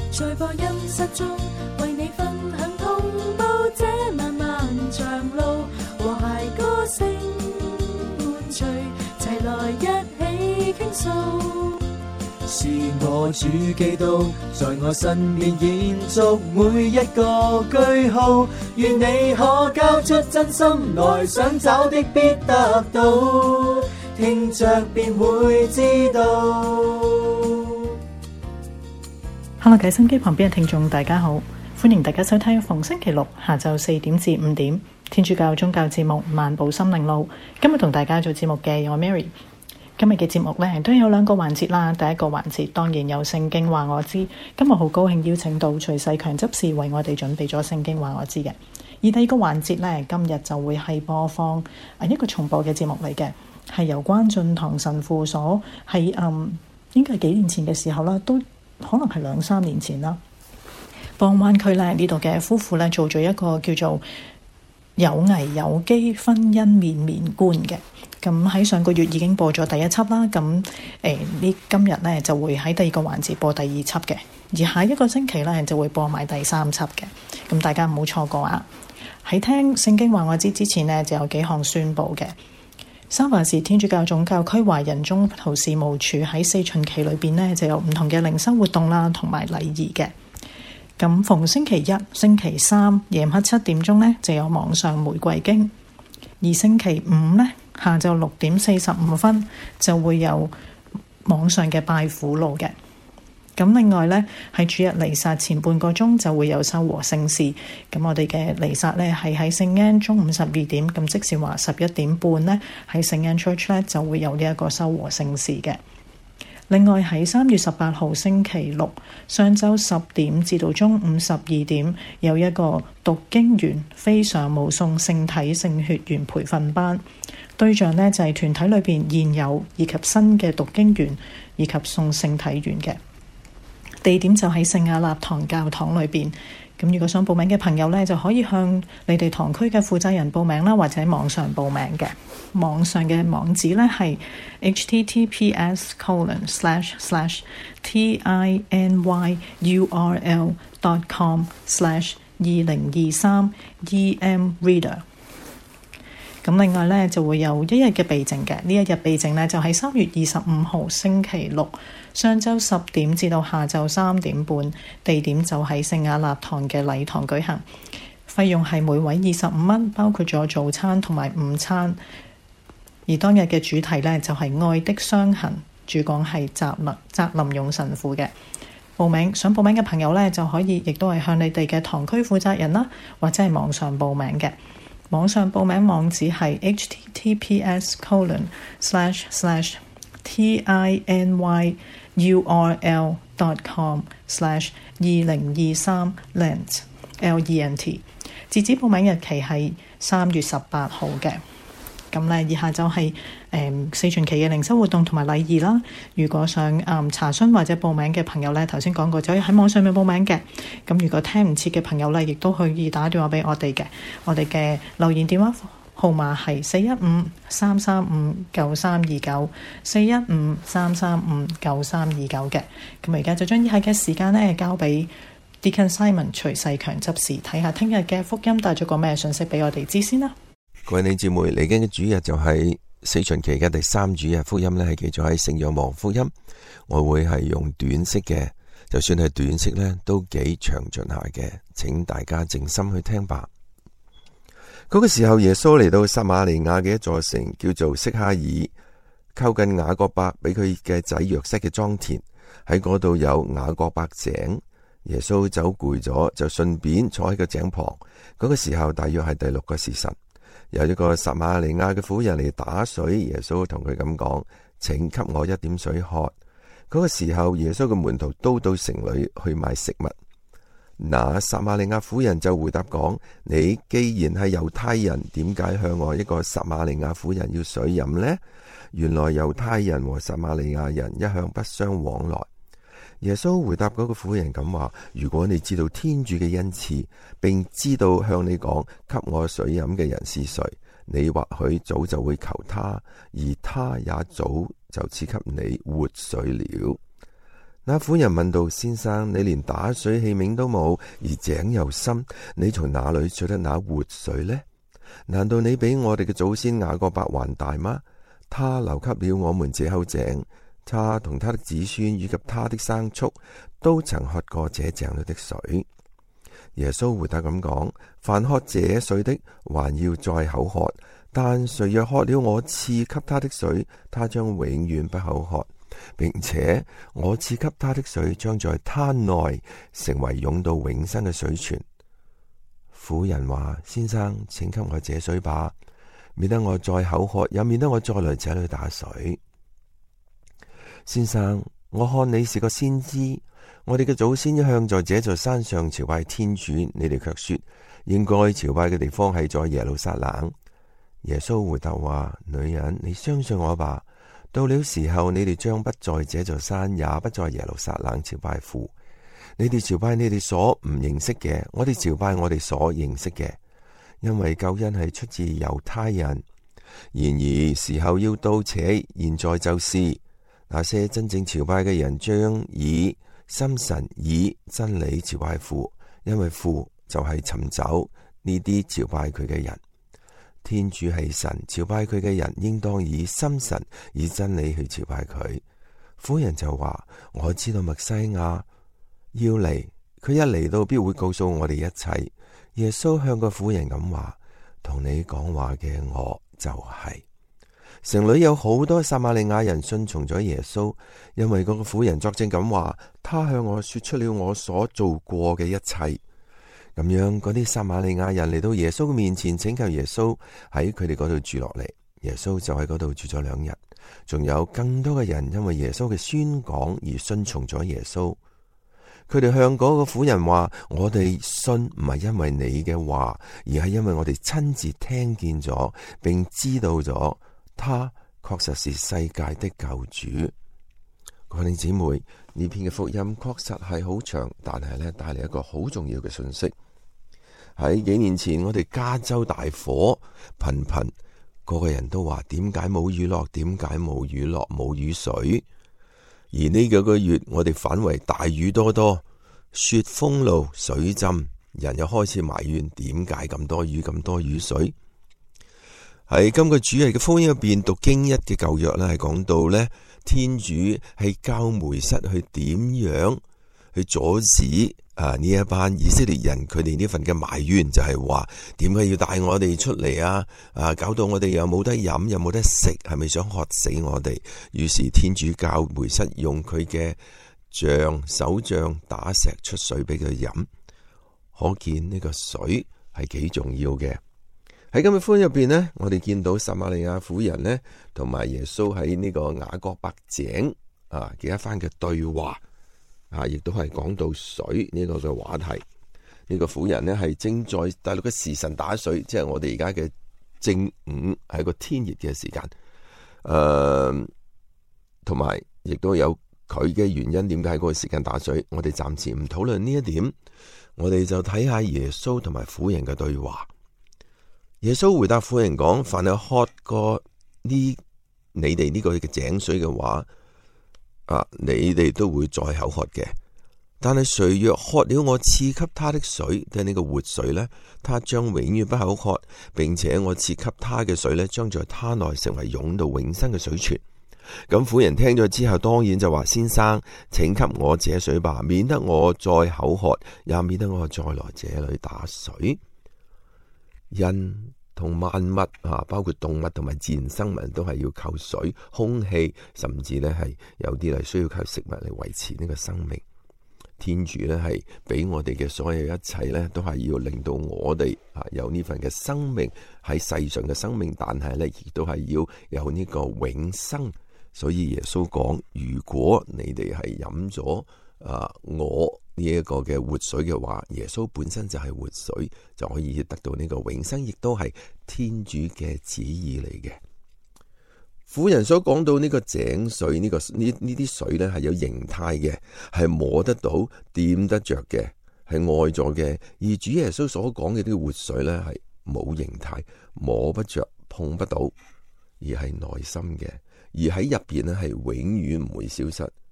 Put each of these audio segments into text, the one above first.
在播音室中為你分享同步這漫漫長路，和諧歌聲伴隨，齊來一起傾訴。 是我主基督在我身邊延續每一個句號，願你可交出真心來，想找的必得到，聽着便會知道。 Hello， 各位心機旁邊嘅聽眾大家好，歡迎大家收聽逢星期六下晝4點至5點天主教宗教節目漫步心靈路。今日同大家做節目嘅我 Mary。今日嘅節目呢都有兩個環節啦。第一個環節當然有聖經話我知，今日好高興邀請到徐世強執事為我哋準備咗聖經話我知嘅。而第二個環節呢，今日就會係播放一個重播嘅節目嚟嘅，係由關進堂神父所喺應該係幾年前嘅時候啦，都可能係2-3年前啦，幫灣區呢度嘅夫婦呢做咗一個叫做有危有機婚姻面面觀嘅。咁喺上個月已經播咗第一輯啦，咁今日呢就會喺第二個環節播第二輯嘅，而下一個星期呢就會播埋第3輯嘅，咁大家唔好錯過啊！喺聽聖經話我知之前呢，就有幾項宣佈嘅。三藩市天主教總教區華人中途事務處喺4旬期裏邊呢，就有唔同嘅靈修活動啦，同埋禮儀嘅。咁逢星期一、星期三夜晚7點鐘呢，就有網上玫瑰經，而星期五呢，下晝6點45分就會有網上嘅拜苦路嘅。咁另外呢，喺主日彌撒前半個鐘就會有修和聖事。咁我哋嘅彌撒呢係喺聖安中午12點，咁即是話11點半呢，喺聖安 Church 呢就會有呢一個修和聖事嘅。另外喺3月18號星期六上晝10點至到中午12點有一個讀經員非常務送聖體聖血員培訓班，對象呢就係團體裏邊現有以及新嘅讀經員以及送聖體員嘅。地點就喺聖亞納堂教堂裏邊。咁如果想報名嘅朋友呢，就可以向你哋堂區嘅負責人報名啦，或者網上報名嘅。網上嘅網址呢係 https://tinyurl.com/2023emreader。咁另外呢，就會有一日嘅備證嘅，呢一日備證呢，就喺3月25號星期六上晝10點至到下晝3點半，地點就喺聖亞納堂嘅禮堂舉行，費用係每位25蚊，包括咗早餐同埋午餐。而當日嘅主題呢，就係愛的傷痕，主講係澤林勇神父嘅。想報名嘅朋友呢，就可以亦都係向你哋嘅堂區負責人啦，或者係網上報名嘅。網上報名網址係 https://tinyurl.com/2023lent。截止報名日期係3月18號嘅。咁呢，以下就係4旬期嘅靈修活動同埋禮儀啦。如果想查詢或者報名嘅朋友呢，頭先講過就可以喺網上面報名嘅。咁如果聽唔切嘅朋友呢，亦都可以打電話俾我哋嘅。我哋嘅留言電話號碼係415-335-9329 415-335-9329嘅。咁而家就將以下嘅時間呢，交俾 Deacon Simon 徐世強執事，睇下聽日嘅福音帶咗個咩信息俾我哋知先啦。 各位弟兄姊妹，嚟緊嘅主日就係4旬期嘅第3主日，福音呢係記載喺聖若望福音。我會係用短式嘅，就算係短式呢都幾詳盡下嘅，請大家靜心去聽吧。嗰個時候，耶穌嚟到撒瑪利亞嘅一座城，叫做色哈爾，靠近雅各伯俾佢嘅仔約瑟嘅莊田，喺嗰度有雅各伯井。耶穌走攰咗，就順便坐喺個井旁。嗰個時候大約係第6個時辰。有一個撒瑪利亞嘅婦人嚟打水，耶穌同佢咁講：請給我一點水喝。嗰個時候，耶穌嘅門徒都到城裏去買食物。那撒瑪利亞婦人就回答講：你既然係猶太人，點解向我一個撒瑪利亞婦人要水飲呢？原來猶太人和撒瑪利亞人一向不相往來。耶穌回答嗰個婦人咁話：如果你知道天主嘅恩賜，並知道向你講給我水飲嘅人是誰，你或許早就會求他，而他也早就賜給你活水了。 那婦人問道：先生，你連打水器皿都冇，而井又深，你從哪裏取得那活水呢？難道你比我哋嘅祖先雅各伯還大嗎？他留給了我們這口井，他同他的子孫以及他的牲畜都曾喝過這井裏的水。耶穌回答咁講：凡喝這水的，還要再口渴；但誰若喝了我賜給他的水，他將永遠不口渴，並且我賜給他的水將在他內成為湧到永生嘅水泉。婦人話：先生，請給我這水吧，免得我再口渴，也免得我再來這裏打水。先生，我看你是個先知。我哋嘅祖先一向在這座山上朝拜天主，你哋卻說應該朝拜嘅地方係在耶路撒冷。耶穌回答話：女人，你相信我吧，到了時候，你哋將不在這座山，也不在耶路撒冷朝拜父。你哋朝拜你哋所唔認識嘅，我哋朝拜我哋所認識嘅，因為救恩係出自猶太人。然而時候要到，且現在就是那些真正朝拜嘅人將以心神以真理朝拜父，因為父就係尋找呢啲朝拜佢嘅人。天主係神，朝拜佢嘅人應當以心神以真理去朝拜佢。婦人就話：我知道默西亞要嚟，佢一嚟到必會告訴我哋一切。耶穌向個婦人咁話：同你講話嘅我就係。城裏有好多撒瑪利亞人信從咗耶穌，因為嗰個婦人作證咁話：他向我說出了我所做過嘅一切。咁樣嗰啲撒瑪利亞人嚟到耶穌嘅面前，請求耶穌喺佢哋嗰度住落嚟。耶穌就喺嗰度住咗2日。仲有更多嘅人因為耶穌嘅宣講而信從咗耶穌。佢哋向嗰個婦人話：我哋信唔係因為你嘅話，而係因為我哋親自聽見咗，並知道咗他確實是世界的救主。各位弟兄姊妹，呢篇嘅福音確實係好長，但係呢帶嚟一個好重要嘅信息。喺幾年前，我哋加州大火頻頻，個個人都話：點解冇雨落？點解冇雨落？冇雨水。而呢幾個月，我哋反為大雨多多，雪封路，水浸，人又開始埋怨點解咁多雨，咁多雨水。喺今個主日嘅福音入邊，讀經一嘅舊約呢，係講到呢，天主係教梅瑟去點樣去阻止呢一班以色列人佢哋呢份嘅埋怨，就係話點解要帶我哋出嚟啊？搞到我哋又冇得飲，又冇得食，係咪想渴死我哋？於是天主教梅瑟用佢嘅手杖打石出水俾佢飲，可見呢個水係幾重要嘅。喺今日福音入邊呢，我哋見到撒瑪利亞婦人呢，同埋耶穌喺呢個雅各伯井嘅一番嘅對話。亦都係講到水呢個嘅話題。呢個婦人呢係正在大陸嘅時辰打水，即係我哋而家嘅正午，係個天熱嘅時間。同埋亦都有佢嘅原因，點解喺嗰個時間打水？我哋暫時唔討論呢一點，我哋就睇下耶穌同埋婦人嘅對話。耶穌回答婦人講：凡係喝過你哋呢個嘅井水嘅話，你哋都會再口渴嘅。但係誰若喝了我賜給他的水，即係呢個活水呢，他將永遠不口渴，並且我賜給他嘅水呢，將在他內成為湧到永生嘅水泉。咁婦人聽咗之後，當然就話：先生，請給我這水吧，免得我再口渴，也免得我再來這裏打水。人同萬物包括動物同埋自然生物都係要靠水、空氣，甚至呢係有啲係需要靠食物嚟維持呢個生命。天主呢係俾我哋嘅所有一切呢，都係要令到我哋有呢份嘅生命，喺世上嘅生命，但係呢亦都係要有呢個永生。所以耶穌講：如果你哋係飲咗我呢一個嘅活水嘅話，耶穌本身就係活水，就可以得到呢個永生，亦都係天主嘅旨意嚟嘅。婦人所講到呢個井水，呢啲水呢係有形態嘅，係摸得到、掂得着嘅，係外在嘅。而主耶穌所講嘅呢個活水呢，係冇形態、摸不着、碰不到，而係內心嘅，而喺入邊呢係永遠唔會消失。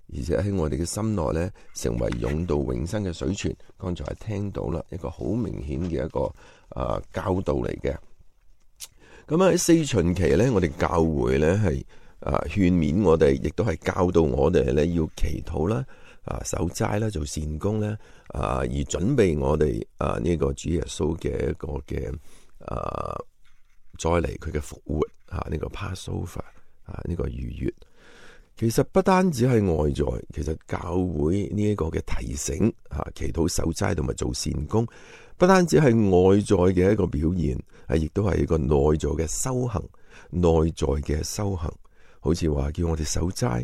而且喺我哋嘅心內呢，成為湧到永生嘅水泉。剛才係聽到啦，一個好明顯嘅一個教導嚟嘅。咁喺四旬期呢，我哋教會呢係勸勉我哋，亦都係教導我哋呢要祈禱啦、守齋啦、做善工啦，而準備我哋呢個主耶穌嘅一個嘅再嚟佢嘅復活呢個 Passover 呢個逾越。其實不單止係外在，其實教會呢一個嘅提醒祈禱守齋同埋做善工，不單止係外在嘅一個表現，亦都係一個內在嘅修行。內在嘅修行，好似話叫我哋守齋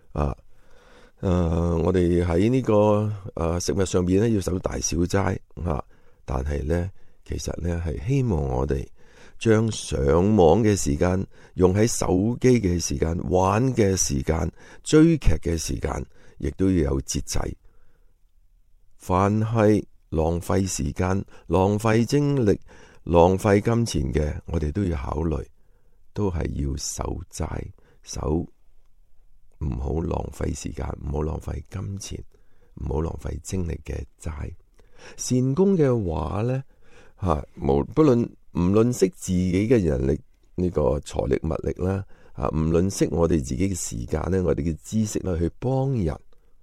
我哋喺呢個食物上邊咧要守大小齋但係咧其實咧係希望我哋將上網嘅時間用喺手機嘅時間、玩嘅時間、追劇嘅時間，亦都要有節制。凡係浪費時間、浪費精力、浪費金錢嘅，我哋都要考慮，都係要守齋，守唔好浪費時間，唔好浪費金錢，唔好浪費精力嘅齋。善功嘅話呢，唔論惜自己嘅人力呢個財力物力啦，唔論惜我哋自己嘅時間呢，我哋嘅知識啦，去幫人。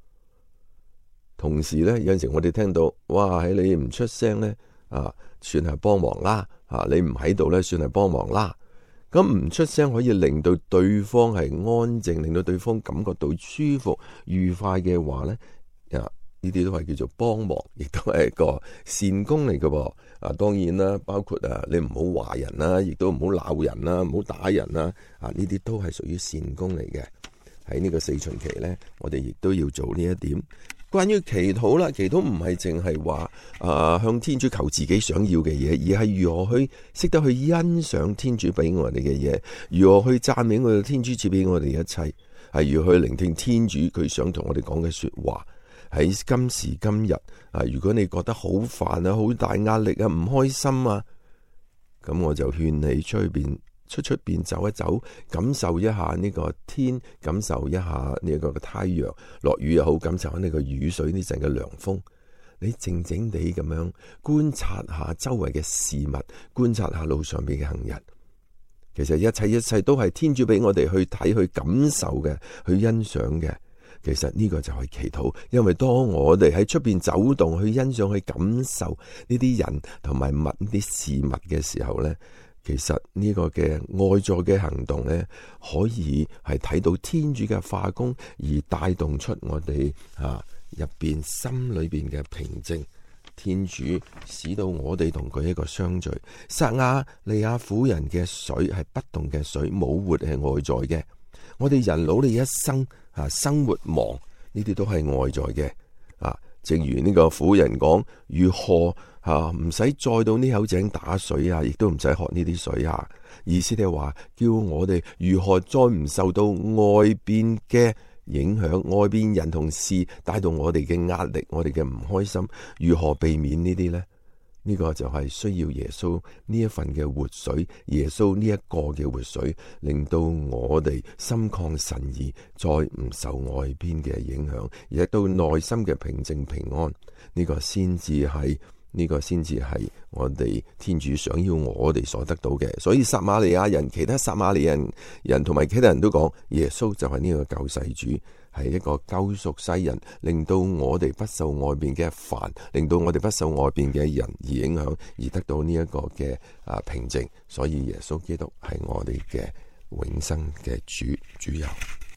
同時呢，有陣時我哋聽到，哇！喺你唔出聲呢，算係幫忙啦。你唔喺度呢，算係幫忙啦。咁唔出聲可以令到對方係安靜，令到對方感覺到舒服、愉快嘅話呢，呢啲都係叫做幫忙，亦都係一個善功嚟嘅噃。當然啦，包括你唔好話人啦，亦都唔好鬧人啦，唔好打人啦。呢啲都係屬於善功嚟嘅。喺呢個四旬期呢，我哋亦都要做呢一點。關於祈禱啦，祈禱唔係淨係話向天主求自己想要嘅嘢，而係如何去識得去欣賞天主俾我哋嘅嘢，如何去讚美我哋天主賜俾我哋一切，係如何去聆聽天主佢想同我哋講嘅說話。喺今時今日如果你覺得好煩啊、好大壓力啊、唔開心啊，咁我就勸你出邊走一走，感受一下呢個天，感受一下呢個太陽，落雨又好，感受下呢個雨水呢陣嘅涼風。你靜靜地咁樣觀察下周圍嘅事物，觀察下路上邊嘅行人。其實一切都係天主俾我哋去睇、去感受嘅、去欣賞嘅。其實呢個就係祈禱，因為當我哋喺出邊走動、去欣賞、去感受呢啲人同埋物、呢啲事物嘅時候呢，其實呢個嘅外在嘅行動呢，可以係睇到天主嘅化工，而帶動出我哋入邊心裏邊嘅平靜。天主使到我哋同佢一個相聚。撒亞利亞婦人嘅水係不動嘅水，冇活係外在嘅。我哋人努力一生生活忙，呢啲都係外在嘅。正如呢個婦人講，如何唔使再到呢口井打水亦都唔使喝呢啲水意思係話叫我哋如何再唔受到外邊嘅影響，外邊人同事帶動我哋嘅壓力，我哋嘅唔開心，如何避免呢啲呢？呢個就係需要耶穌呢一份嘅活水，耶穌呢一個嘅活水，令到我哋心曠神怡，再唔受外邊嘅影響，而到內心嘅平靜平安。呢個先至係我哋天主想要我哋所得到嘅。所以撒瑪利亞人、其他撒瑪利亞人同埋其他人都講，耶穌就係呢個救世主，係一個救贖世人，令到我哋不受外邊嘅煩，令到我哋不受外邊嘅人而影響，而得到呢一個嘅平靜。所以耶穌基督係我哋嘅永生嘅主佑。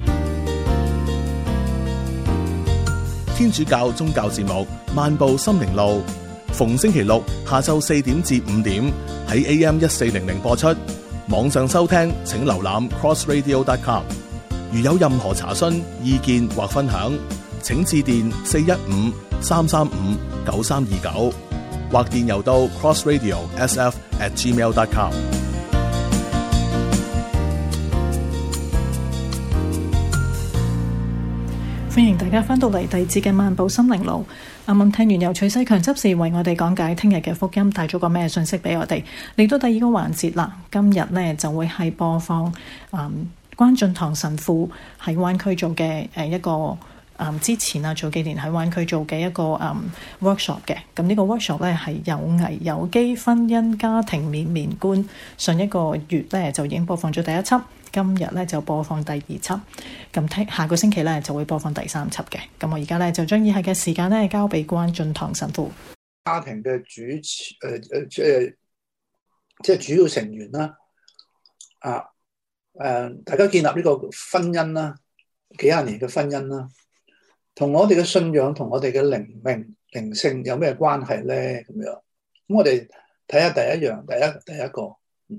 天主教宗教節目《漫步心靈路》，逢星期六下晝4點至5點喺 AM1400 播出。網上收聽請瀏覽 crossradio.com。如有任何查詢、意見或分享，請致電415-335-9329，或電郵到 crossradio.sf@gmail.com。 歡迎大家翻到嚟第二節嘅漫步心靈路。啱啱聽完由徐世強執事為我哋講解聽日嘅福音，帶咗個咩信息俾我哋。嚟到第二個環節啦，今日呢就會係播放關進堂神父喺灣區做嘅一個之前啊早幾年喺灣區做嘅一個workshop 嘅。咁呢個 workshop 咧係有危有機婚姻家庭面面觀，上一個月咧就已經播放咗第一輯，今日咧就播放第二輯，咁下個星期咧就會播放第三輯嘅。咁我而家咧就將以下嘅時間咧交俾關進堂神父。 家庭嘅即係主要成員啦，大家建立呢個婚姻啦，幾廿年嘅婚姻啦，同我哋嘅信仰同我哋嘅靈命靈性有咩關係咧？咁樣，咁我哋睇下第一個，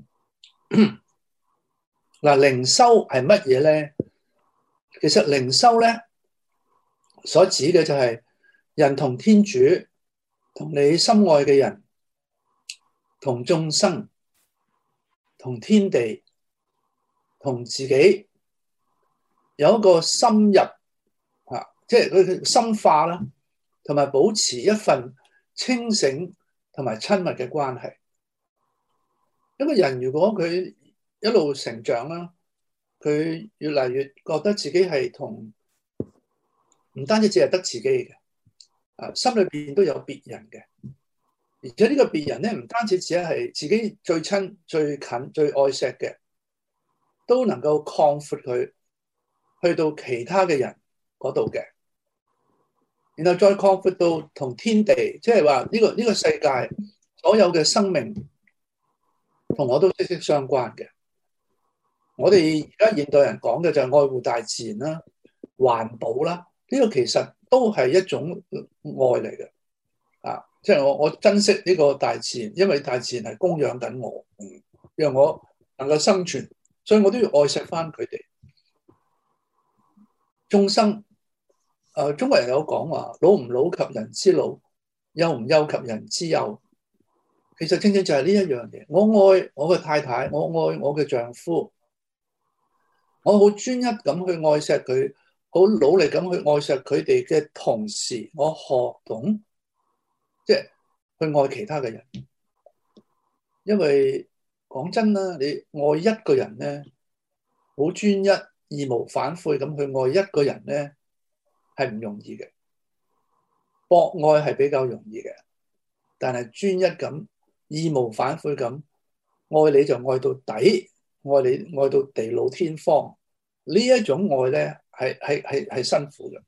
嗱，靈修係乜嘢咧？其實靈修咧所指嘅就係人同天主、同你心愛嘅人、同眾生、同天地、同自己有一個深入即係佢深化啦，同埋保持一份清醒同埋親密嘅關係。一個人如果佢一路成長啦，佢越嚟越覺得自己係同唔單止只係得自己嘅，心裏邊都有別人嘅，而且呢個別人咧唔單止只係自己最親、最近、最愛錫嘅，都能夠擴闊佢去到其他嘅人嗰度嘅，然後再擴闊到同天地，即係話呢個世界所有嘅生命同我都息息相關嘅。我哋而家現代人講嘅就係愛護大自然啦、環保啦，呢個其實都係一種愛嚟嘅。即係我珍惜呢個大自然，因為大自然係供養緊我，讓我能夠生存，所以我都要愛惜翻佢哋。眾生，中國人有講話，老唔老及人之老，幼唔幼及人之幼。其實正正就係呢一樣嘢。我愛我嘅太太，我愛我嘅丈夫，我好專一咁去愛錫佢，好努力咁去愛錫佢哋嘅同時，我學懂即係去愛其他嘅人。因為講真啦，你愛一個人咧，好專一、義無反悔咁去愛一個人咧，係唔容易嘅。博愛係比較容易嘅，但係專一咁、義無反悔咁愛你就愛到底，愛你愛到地老天荒，呢一種愛咧係辛苦嘅。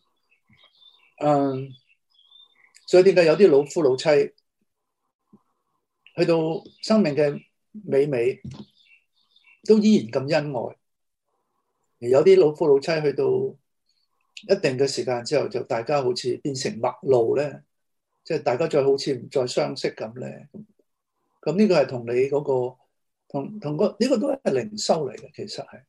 所以點解有啲老夫老妻去到生命嘅尾都依然咁恩愛，而有啲老夫老妻去到一定嘅時間之後，就大家好似變成陌路咧，即係大家再好似唔再相識咁咧。咁呢個係同你嗰個同個呢個都係靈修嚟嘅，其實係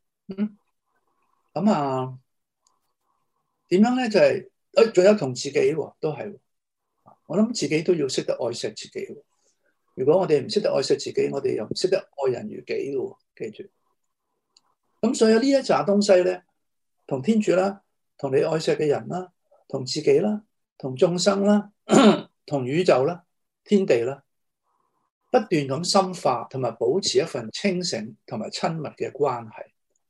咁點樣咧？就係仲有同自己喎，都係。我諗自己都要識得愛惜自己。如果我哋唔識得愛惜自己，我哋又唔識得愛人如己嘅。記住。咁所以呢一紮東西咧，同天主啦，同你愛惜嘅人啦，同自己啦，同眾生啦，同宇宙啦，天地啦，不斷咁深化同埋保持一份清醒同埋親密嘅關係。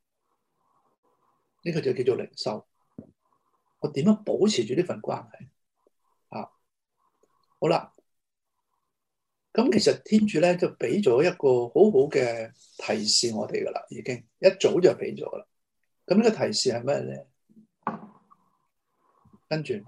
呢個就叫做靈修。我點樣保持住呢份關係？好啦，咁其實天主咧就俾咗一個好好嘅提示我哋噶啦，已經一早就俾咗啦。咁呢個提示係咩咧？跟住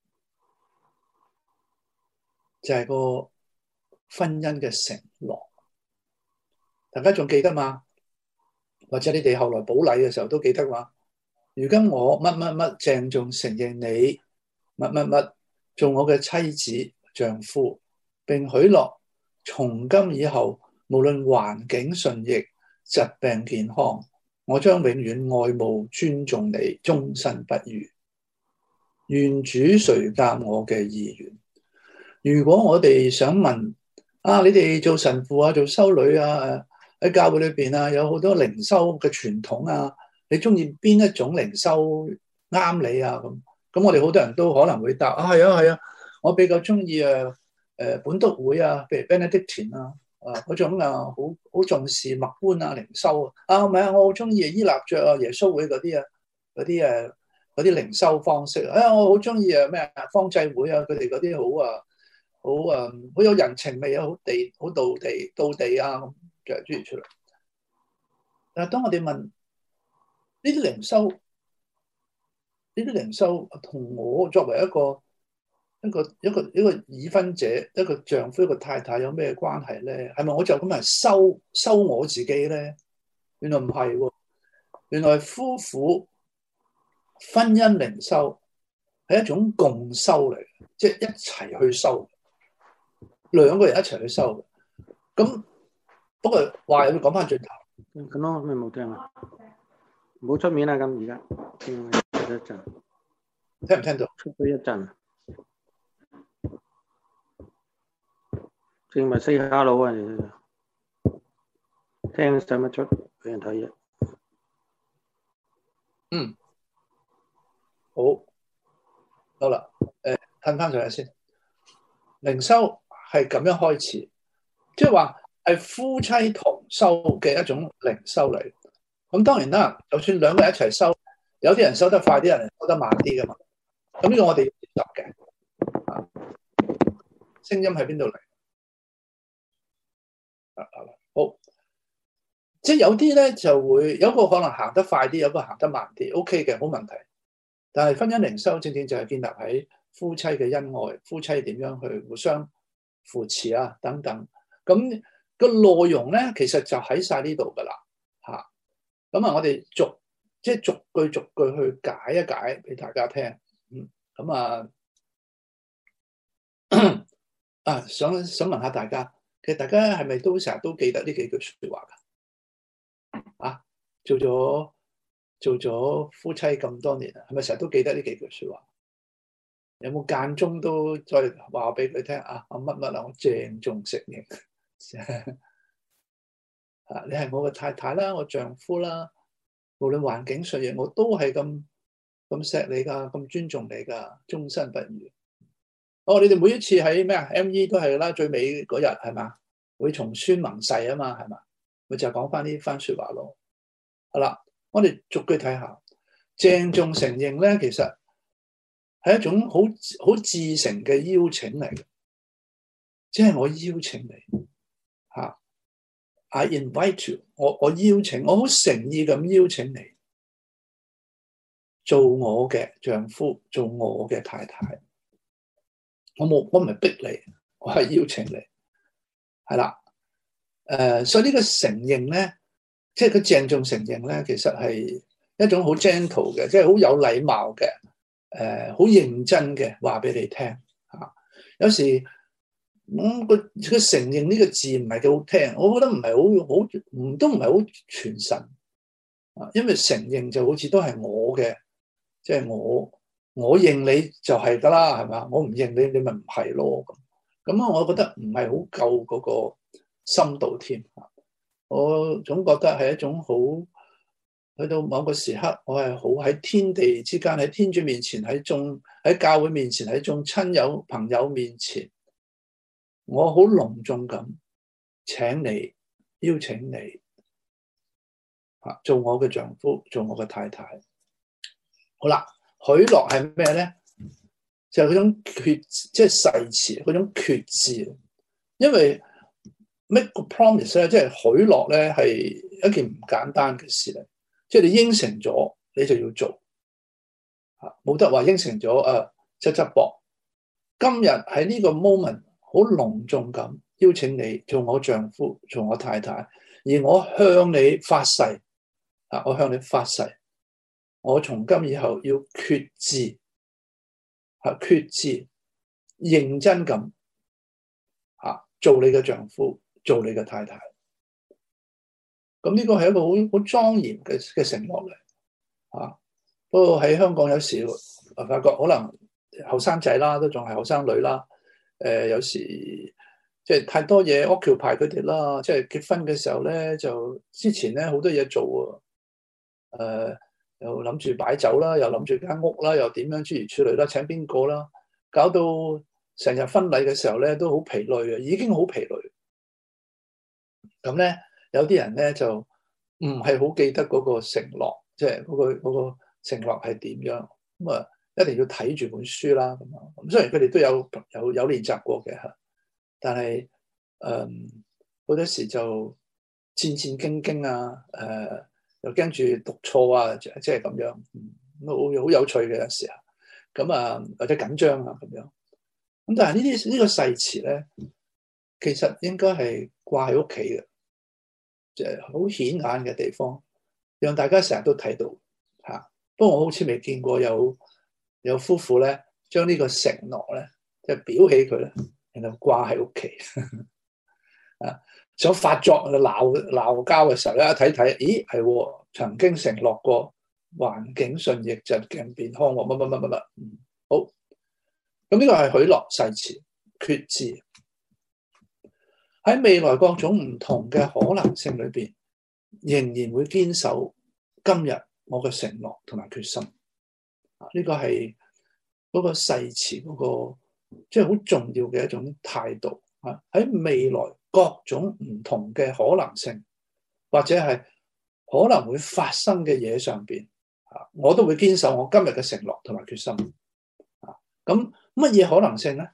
就係個婚姻嘅承諾，大家仲記得嘛？或者你哋後來補禮嘅時候都記得嘛？如今我乜乜乜鄭重承認你乜乜乜做我嘅妻子丈夫，並許諾從今以後，無論環境順逆、疾病健康，我將永遠愛慕尊重你，終身不渝。願主垂鑒我嘅意願。如果我哋想問你哋做神父啊、做修女啊、喺教會裏邊啊，有好多靈修嘅傳統啊，你中意邊一種靈修啱你啊？咁我哋好多人都可能會答係啊。我比較中意本篤會啊，譬如 Benedictine 嗰種好重視默觀靈修啊，唔係我好中意依納爵耶穌會嗰啲嗰啲靈修方式。我好中意啊咩啊方濟會啊，佢哋嗰啲好有人情味啊，好道地啊咁，就係諸如此類。但係當我哋問呢啲靈修同我作為一個已婚者，一個丈夫一個太太有咩關係咧？係咪我就咁係收我自己咧？原來唔係喎，原來夫婦婚姻靈修係一種共修嚟，即係一齊去修，兩個人一齊去修。咁不過話又要講翻轉頭， 咁咯，咩冇聽啊？唔好出面啦，咁而家聽一陣， 聽唔聽到？ 出咗一陣，正咪 say hello 啊！聽使乜出俾人睇嘢？ 好啦，褪翻上嚟先。靈修係咁樣開始，即係話係夫妻同修嘅一種靈修嚟。咁當然啦，就算兩個人一齊修，有啲人修得快，啲人修得慢啲噶嘛。咁呢個我哋要接受嘅。聲音喺邊度嚟？好，即係有啲咧就會有個可能行得快啲，有個行得慢啲 ，OK 嘅，冇問題。但係婚姻靈修正正就係建立喺夫妻嘅恩愛，夫妻點樣去互相扶持啊等等。咁個內容咧，其實就喺晒呢度噶啦嚇。咁啊，我哋逐句去解一解俾大家聽。咁想問下大家，其實大家係咪都成日都記得呢幾句説話㗎？做咗夫妻咁多年啊，係咪成日都記得呢幾句説話？有冇間中都再話俾佢聽啊？我乜乜啊，我鄭重承認你係我嘅太太啦，我丈夫啦，無論環境順逆，我都係咁錫你㗎，咁尊重你㗎，終身不渝。你哋每一次喺咩啊 ME 都係啦，最尾嗰日係嘛，會從孫盟誓啊嘛，係嘛，咪就係講翻呢番説話咯。好啦，我哋逐句睇下，鄭重承認咧，其實係一種好至誠嘅邀請嚟嘅，即係我邀請你嚇，I invite you， 我邀請，我好誠意咁邀請你做我嘅丈夫，做我嘅太太。我唔係逼你，我係邀請你，係啦。所以呢個承認咧，即係佢鄭重承認咧，其實係一種好 gentle 嘅，即係好有禮貌嘅，好認真嘅話俾你聽嚇。有時佢承認呢個字唔係幾好聽，我覺得唔係都唔係好傳神啊，因為承認就好似都係我嘅，即係我認你就係㗎啦，係嘛？我唔認你，你咪唔係咯。咁啊，我覺得唔係好夠嗰個深度添。我總覺得係一種好，去到某個時刻，我係好喺天地之間，喺天主面前，喺教會面前，喺眾親友朋友面前，我好隆重咁請你，邀請你做我嘅丈夫，做我嘅太太。好啦。許諾係咩咧？就係嗰種即係誓詞，嗰種決志。因為 make a promise 咧，即係許諾咧，係一件唔簡單嘅事嚟。即係你應承咗，你就要做。冇得話應承咗側側膊。今日喺呢個 moment 好隆重咁邀請你做我丈夫，做我太太，而我向你發誓我向你發誓。我從今以後要決志，認真咁做你嘅丈夫，做你嘅太太。咁呢個係一個好莊嚴嘅承諾嚟。不過喺香港有時發覺可能後生仔啦，都仲係後生女啦。有時即係太多嘢 occupy 佢哋啦。即係結婚嘅時候咧，就之前咧好多嘢做又諗住擺酒啦，又諗住間屋啦，又點樣諸如此類啦，請邊個啦，搞到成日婚禮嘅時候咧都好疲累啊，已經好疲累。咁咧有啲人咧就唔係好記得嗰個承諾，即係嗰個承諾係點樣。 咁啊一定要睇住本書啦。咁雖然佢哋都有練習過嘅嚇，但係好多時就戰戰兢兢啊，又驚住讀錯啊，即係咁樣，好有趣嘅有時候。咁啊或者緊張啊咁樣。咁但係呢個誓詞咧，其實應該係掛喺屋企嘅，即係好顯眼嘅地方，讓大家成日都睇到嚇。不過我好似未見過有夫婦咧，將呢個承諾咧，即係裱起佢咧，然後掛喺屋企。啊，想發作鬧交嘅時候咧，一睇，咦係曾經承諾過環境順逆、疾病健康，乜。好，咁呢個係許諾誓詞決志。喺未來各種唔同嘅可能性裏邊，仍然會堅守今日我嘅承諾同埋決心。呢個係嗰個誓詞嗰個即係好重要嘅一種態度。喺未來各種唔同嘅可能性，或者係可能會發生嘅嘢上邊，我都會堅守我今日嘅承諾同埋決心。咁乜嘢可能性咧？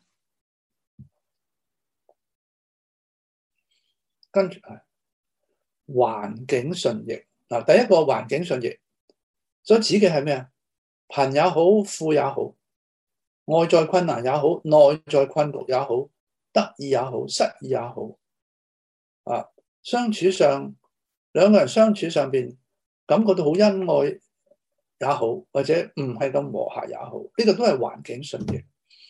跟住係環境順逆。嗱，第一個環境順逆所指嘅係咩啊？貧也好，富也好，外在困難也好，內在困局也好，得意也好，失意也好，相處上兩個人相處上邊感覺到好恩愛也好，或者唔係咁和諧也好，呢個都係環境順逆。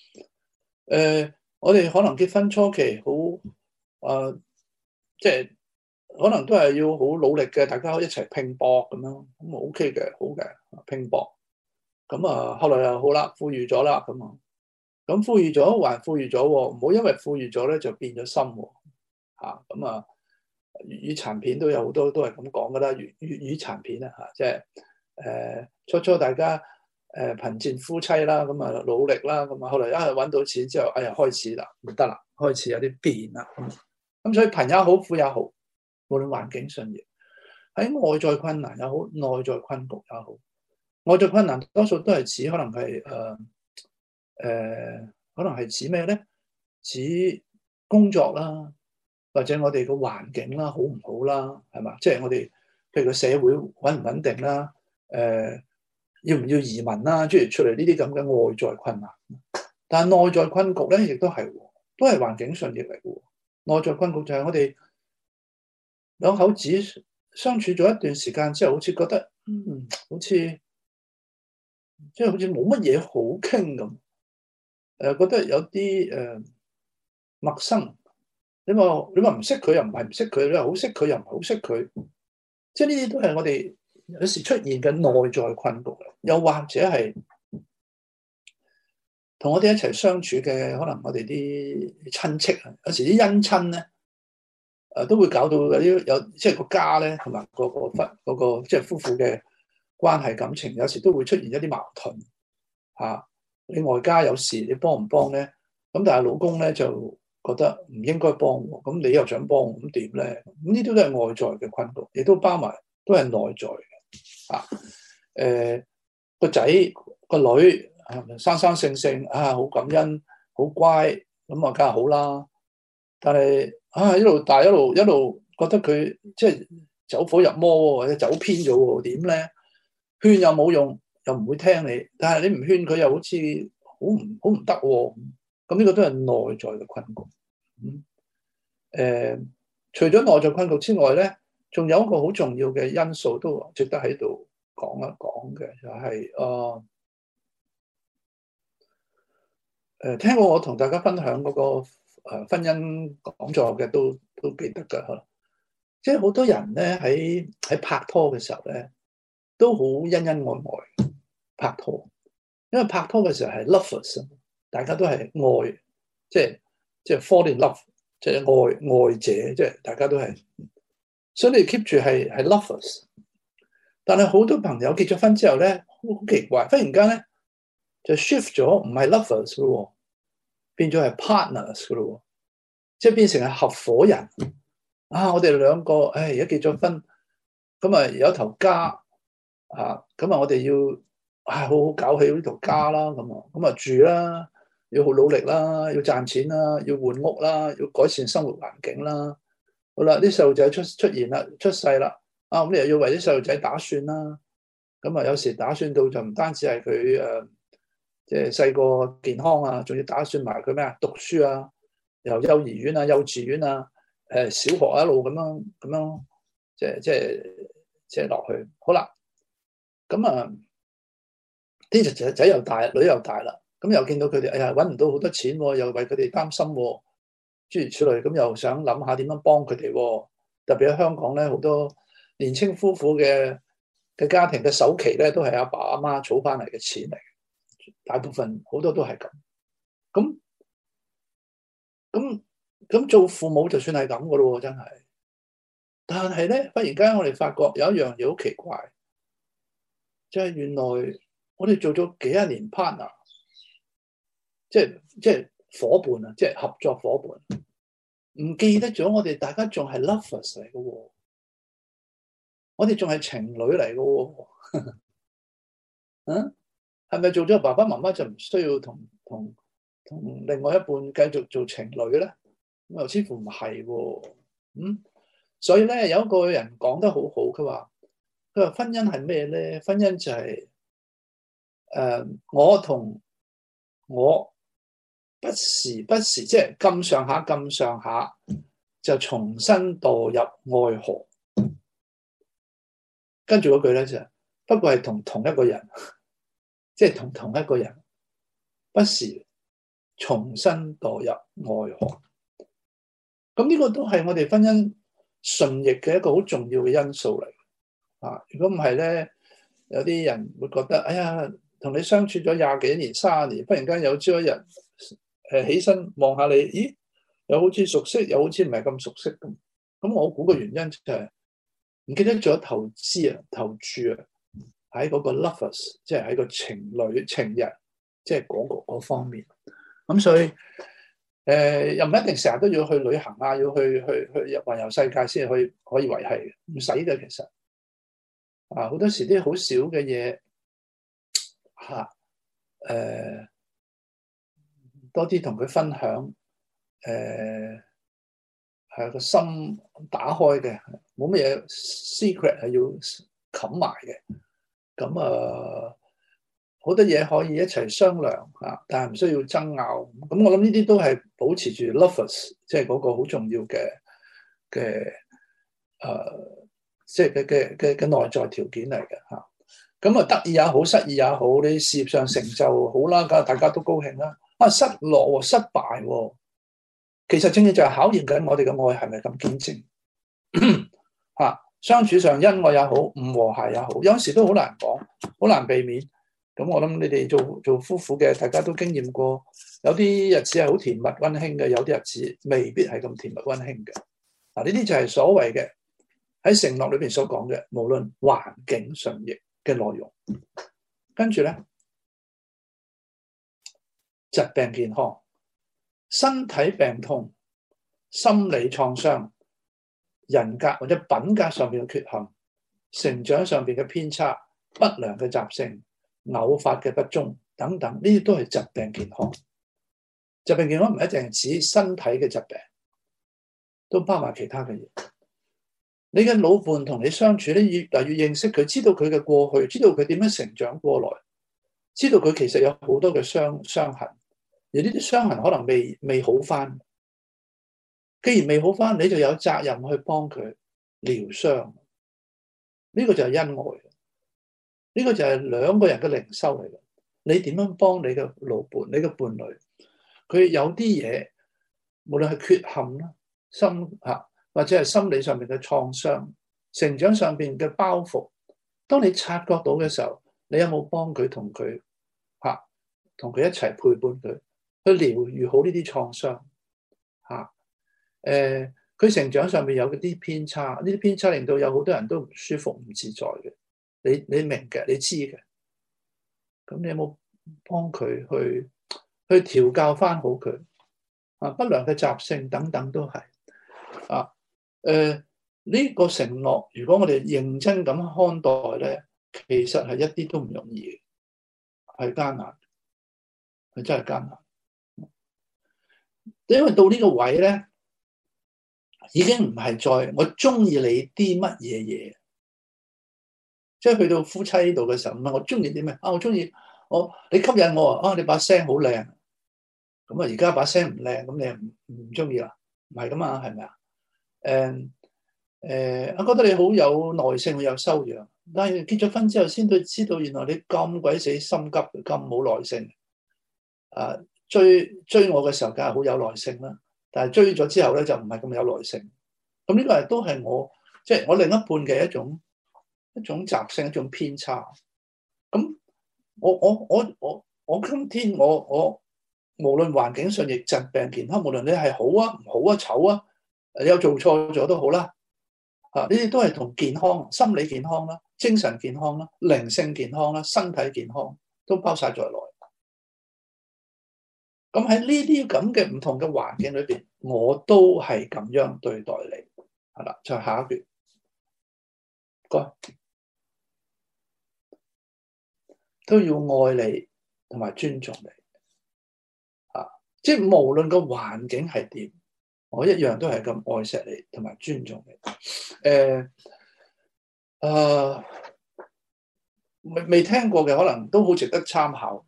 我哋可能結婚初期好即係可能都係要好努力嘅，大家一齊拼搏咁樣，咁 OK 嘅，好嘅，拼搏。咁後來又好啦，富裕咗啦，咁富裕咗還富裕咗，唔好因為富裕咗咧就變咗心喎。粵語殘片都有好多都係咁講噶啦，粵語殘片啊即係初大家貧賤夫妻啦，咁努力啦，咁後來一係揾到錢之後，哎呀開始啦，唔得啦，開始有啲變啦。咁所以貧也好，富也好，無論環境順逆，喺外在困難也好，內在困局也好，外在困難多數都係指可能係指咩咧？指工作啦，或者我哋個環境啦，好唔好啦，係嘛？即係我哋譬如個社會穩唔穩定啦，要唔要移民啦，諸如出嚟呢啲咁嘅外在困難。但係內在困局咧，亦都係環境順逆嚟嘅。內在困局就係我哋兩口子相處咗一段時間之後，好似覺得好似即係好似冇乜嘢好傾咁，覺得有啲陌生。你話唔識佢又唔係唔識佢，你話好識佢又唔係好識佢，即係呢啲都係我哋有時出現嘅內在困局。又或者係同我哋一齊相處嘅，可能我哋啲親戚啊，有時啲姻親咧，都會搞到有即係個家咧，同埋嗰個即係夫婦嘅關係感情，有時都會出現一啲矛盾嚇。你外家有事，你幫唔幫咧？咁但係老公咧就覺得唔應該幫喎，咁你又想幫，咁點咧？咁呢啲都係外在嘅困局，亦都包埋都係內在嘅。個仔個女生生性性好感恩，好乖，咁梗係好啦。但係一路大一路覺得佢即係走火入魔或者走偏咗喎，點咧？勸又冇用，又唔會聽你。但係你唔勸佢，又好似好唔得喎。咁呢個都係內在嘅困局。除咗內在困局之外咧，仲有一個好重要嘅因素都值得喺度講一講嘅，就係聽過我同大家分享嗰個婚姻講座嘅都記得㗎。即係好多人咧喺拍拖嘅時候咧，都好恩恩愛愛拍拖，因為拍拖嘅時候係 lovers， 大家都係愛，即係 fall in love， 即係愛者，即係大家都係，所以你 keep 住係 lovers。但係好多朋友結咗婚之後咧，好奇怪，忽然間咧就 shift 咗，唔係 lovers 咯，變咗係 partners 噶咯，即係變成係合夥人。我哋兩個，而家結咗婚，咁有一頭家，咁我哋要好好搞起呢條家啦，咁啊住啦，要好努力啦，要賺錢啦，要換屋啦，要改善生活環境啦。好啦，啲細路仔出現啦，出世啦，咁你又要為啲細路仔打算啦。咁啊，有時打算到就唔單止係佢即係細個健康啊，仲要打算埋佢咩啊？讀書啊，由幼兒園啊、幼稚園啊、小學一路咁樣，即係落去。好啦，咁啊，啲仔又大，女又大啦，咁又見到佢哋，哎呀，揾唔到好多錢，又為佢哋擔心，諸如此類，咁又想諗下點樣幫佢哋。特別喺香港咧，好多年青夫婦嘅家庭嘅首期咧，都係阿爸阿媽儲翻嚟嘅錢嚟，大部分好多都係咁。咁做父母就算係咁噶咯，真係。但係咧，忽然間我哋發覺有一樣嘢好奇怪，就係原來我哋做咗幾十年 partner，即係夥伴啊，即係合作夥伴，唔記得咗我哋大家仲係 lovers 嚟嘅喎，我哋仲係情侶嚟嘅喎，係咪做咗爸爸媽媽就唔需要同另外一半繼續做情侶咧？咁又似乎唔係喎，所以咧有一個人講得好好，佢話婚姻係咩咧？婚姻就係我同我不時即係咁上下就重新墮入愛河，跟住嗰句咧就不過係同一個人，即係同一個人不時重新墮入愛河。咁呢個都係我哋婚姻順逆嘅一個好重要嘅因素嚟。如果唔係咧，有啲人會覺得，哎呀，同你相處咗20幾年、30年，忽然間有朝一日起身望下你，咦，又好似熟悉，又好似唔係咁熟悉咁。咁我估個原因就係唔記得咗投注喺嗰個 lovers， 即係喺個情人，即係嗰方面。咁所以又唔一定成日都要去旅行啊，要去環遊世界先可以維繫嘅，唔使嘅其實。好多時啲好少嘅嘢多啲同佢分享，係個心打開嘅，冇乜嘢 secret 係要冚埋嘅。咁好多嘢可以一齊商量但係唔需要爭拗。咁我諗呢啲都係保持住 lovers， 即係嗰個好重要嘅即係嘅內在條件嚟嘅嚇。咁得意也好，失意也好，你事業上成就好啦，梗係大家都高興啦。失落失敗，其實正正就係考驗緊我哋嘅愛係咪咁堅貞相處上恩愛也好，唔和諧也好，有時都好難講，好難避免。咁我諗你哋做夫婦嘅，大家都經驗過，有啲日子係好甜蜜溫馨嘅，有啲日子未必係咁甜蜜溫馨嘅。呢啲就係所謂嘅喺承諾裏邊所講嘅，無論環境順逆嘅內容。跟住咧，疾病健康、身體病痛、心理創傷、人格或者品格上面嘅缺陷、成長上面嘅偏差、不良嘅習性、偶發嘅不忠等等，呢啲都係疾病健康。疾病健康唔一定係指身體嘅疾病，都包埋其他嘅嘢。你嘅老伴同你相處咧，越嚟越認識佢，知道佢嘅過去，知道佢點樣成長過來，知道佢其實有好多嘅傷痕，而呢啲傷痕可能未好翻。既然未好翻，你就有責任去幫佢療傷。呢個就係恩愛，呢個就係兩個人嘅靈修嚟嘅。你點樣幫你嘅老伴、你嘅伴侶？佢有啲嘢，無論係缺陷啦、或者係心理上面嘅創傷、成長上面嘅包袱，當你察覺到嘅時候，你有冇幫佢同佢一齊陪伴佢，去療癒好呢啲創傷？佢成長上面有啲偏差，呢啲偏差令到有好多人都唔舒服、唔自在嘅。你明嘅，你知嘅。咁你有冇幫佢去調教翻好佢？不良嘅習性等等都係。呢個承諾，如果我哋認真咁看待咧，其實係一啲都唔容易嘅。 係艱難，係真係艱難。因為到呢個位咧，已經唔係再我中意你啲乜嘢嘢，即係去到夫妻度嘅時候，唔係我中意啲咩啊？我中意你吸引我啊！你把聲好靚，咁啊而家把聲唔靚，咁你唔中意啦？唔係噶嘛，係咪啊？我覺得你好有耐性，好有修養，但係結咗婚之後先至知道，原來你咁鬼死心急，咁冇耐性。追我嘅時候，梗係好有耐性啦。但係追咗之後咧，就唔係咁有耐性。咁呢個都係我即係我另一半嘅一種習性，一種偏差。咁我今天我無論環境上亦疾病健康，無論你係好啊、唔好啊、醜啊，你有做錯咗都好啦。呢啲都係同健康、心理健康啦、精神健康啦、靈性健康啦、身體健康都包晒在內。咁喺呢啲咁嘅唔同嘅環境裏邊，我都係咁樣對待你，係啦。就下一段，該都要愛你同埋尊重你，即係無論個環境係點，我一樣都係咁愛錫你同埋尊重你。未聽過嘅可能都好值得參考。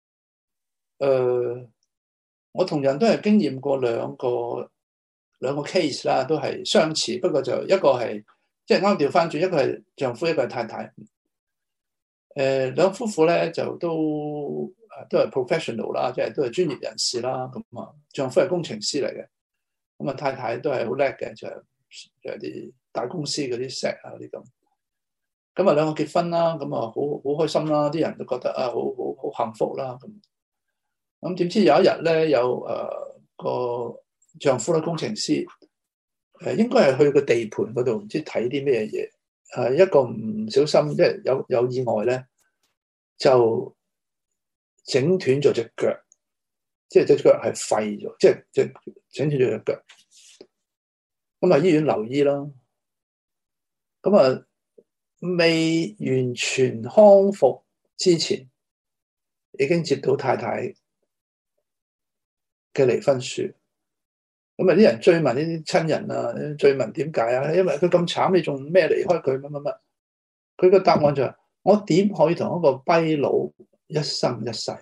我同樣都係經驗過兩個 case 啦，都係相似，不過就一個係即係啱調翻轉，一個係丈夫，一個係太太。兩夫婦咧就都係 professional 啦，即係都係專業人士啦。咁啊，丈夫係工程師嚟嘅，咁啊太太都係好叻嘅，就係啲大公司嗰啲石啊啲咁。咁啊兩個結婚啦，咁啊好開心啦，啲人都覺得啊好幸福啦咁。咁點知有一日咧，有個丈夫咧，工程師應該係去個地盤嗰度，唔知睇啲咩嘢，一個唔小心即係有意外咧，就整斷咗隻腳，即係隻腳係廢咗，即係整斷咗隻腳。咁啊醫院留醫啦，咁啊未完全康復之前，已經接到太太嘅離婚書，咁啊啲人追問呢啲親人啊，追問點解啊？因為佢咁慘，你仲咩離開佢乜乜乜？佢個答案就係：我點可以同一個跛佬一生一世？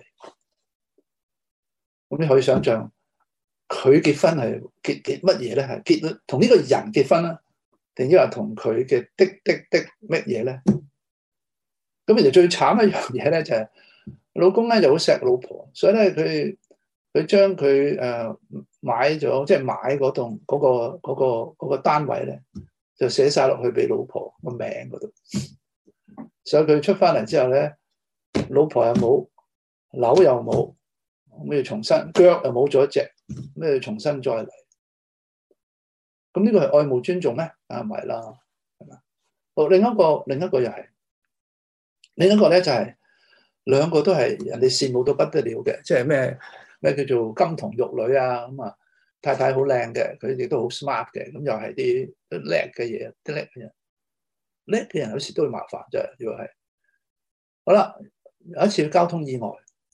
咁你可以想象，佢結婚係結乜嘢咧？係結同呢個人結婚啦，定抑或同佢嘅的乜嘢咧？咁其實最慘一樣嘢咧，就係老公咧就好錫老婆，所以咧佢將佢買咗，即係買嗰棟嗰個單位咧，就寫晒落去俾老婆個名嗰度。所以佢出翻嚟之後咧，老婆又冇，樓又冇，咁要重新，腳又冇咗一隻，咁要重新再嚟。咁呢個係愛慕尊重咩？唔係啦，係嘛？好，另一個又係，另一個咧就係兩個都係人哋羨慕到不得了嘅，即係咩叫做金童玉女啊？咁啊，太太好靚嘅，佢哋都好 smart 嘅，咁又係啲叻嘅嘢，啲叻嘅人，叻嘅人有時都會麻煩啫。如果係好啦，有一次交通意外，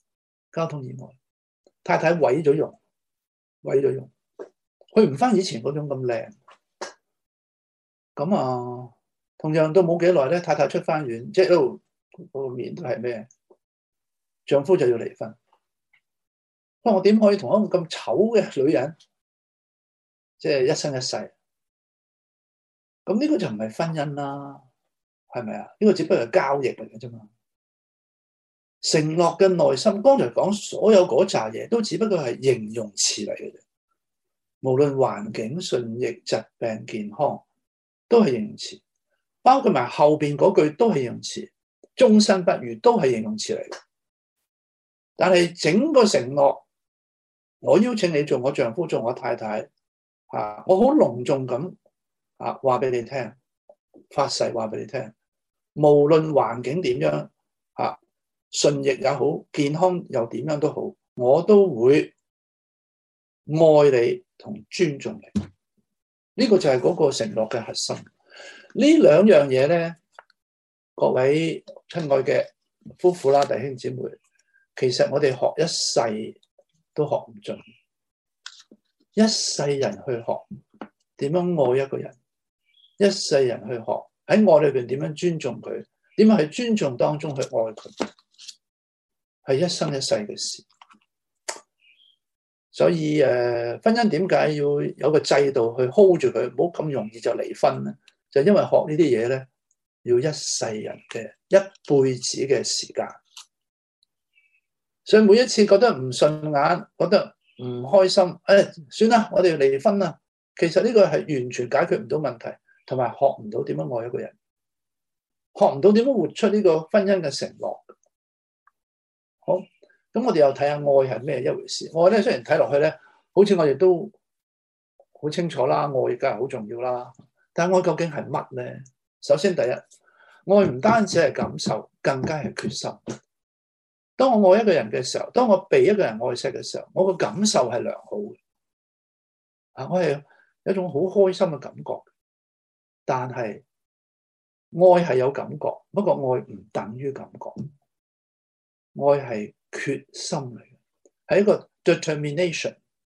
太太毀咗容，佢唔翻以前嗰種咁靚。咁啊，同樣都冇幾耐咧，太太出翻院，即係都個面都係咩？丈夫就要離婚。我點可以同一個咁醜嘅女人，即係一生一世？咁呢個就唔係婚姻啦，係咪啊？呢個只不過係交易嚟嘅啫嘛。承諾嘅內心，剛才講所有嗰扎嘢，都只不過係形容詞嚟嘅啫。無論環境、順逆、疾病、健康，都係形容詞。包括埋後邊嗰句都係形容詞，終身不渝都係形容詞嚟嘅。但係整個承諾，我邀請你做我丈夫，做我太太，我好隆重咁話俾你聽，發誓話俾你聽，無論環境點樣，順逆也好，健康又點樣都好，我都會愛你同尊重你。呢個就係嗰個承諾嘅核心。呢兩樣嘢咧，各位親愛嘅夫婦啦、弟兄姊妹， 其實我哋學一世都學唔盡，一世人去學點樣愛一個人，一世人去學喺愛裏邊點樣尊重佢，點樣喺尊重當中去愛佢，係一生一世嘅事。所以婚姻點解要有個制度去 hold 住佢，唔好咁容易就離婚咧？就因為學呢啲嘢咧，要一世人嘅一輩子嘅時間。所以每一次覺得唔順眼，覺得唔開心，算啦，我哋要離婚啦。其實呢個係完全解決唔到問題，同埋學唔到點樣愛一個人，學唔到點樣活出呢個婚姻嘅承諾。好，咁我哋又睇下愛係咩一回事。愛咧，雖然睇落去咧，好似我哋都好清楚啦，愛梗係好重要啦。但係愛究竟係乜咧？首先第一，愛唔單止係感受，更加係決心。當我愛一個人嘅時候，當我被一個人愛錫嘅時候，我個感受係良好嘅。我係有一種好開心嘅感覺。但係愛係有感覺，不過愛唔等於感覺。愛係決心嚟嘅，係一個 determination。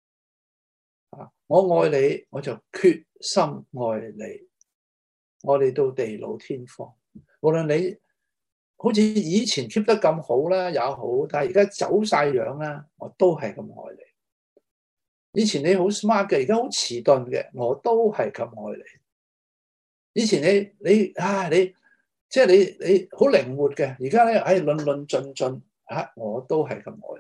我愛你，我就決心愛你，愛你到地老天荒。無論你好似以前 keep 得咁好啦也好，但係而家走晒樣啦，我都係咁愛你。以前你好 smart 嘅，而家好遲鈍嘅，我都係咁愛你。以前你即係你好靈活嘅，而家咧論論盡盡我都係咁愛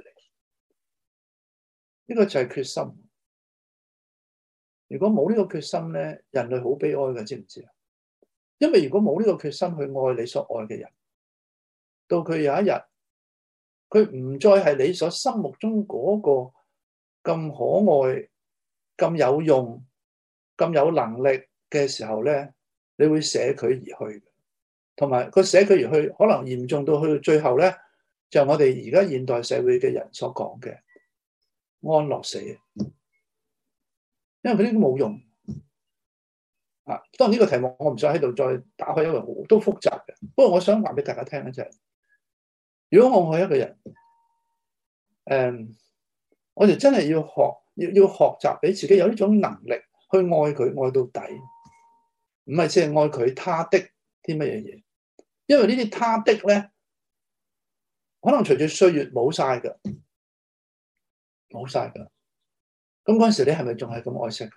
你。呢個就係決心。如果冇呢個決心咧，人類好悲哀嘅，知唔知啊？因為如果冇呢個決心去愛你所愛嘅人，到佢有一日，佢唔再係你所心目中嗰個咁可愛、咁有用、咁有能力嘅時候咧，你會捨佢而去。同埋個捨佢而去，可能嚴重到去到最後咧，就係我哋而家現代社會嘅人所講嘅安樂死。因為佢呢啲冇用。當然呢個題目我唔想喺度再打開，因為好都複雜嘅。不過我想話俾大家聽咧，就係如果我愛一個人，我哋真係要學習俾自己有呢種能力去愛佢，愛到底，唔係淨係愛佢他的啲乜嘢嘢。因為呢啲他的咧，可能隨住歲月冇晒噶，冇晒噶。咁嗰陣時你係咪仲係咁愛錫佢？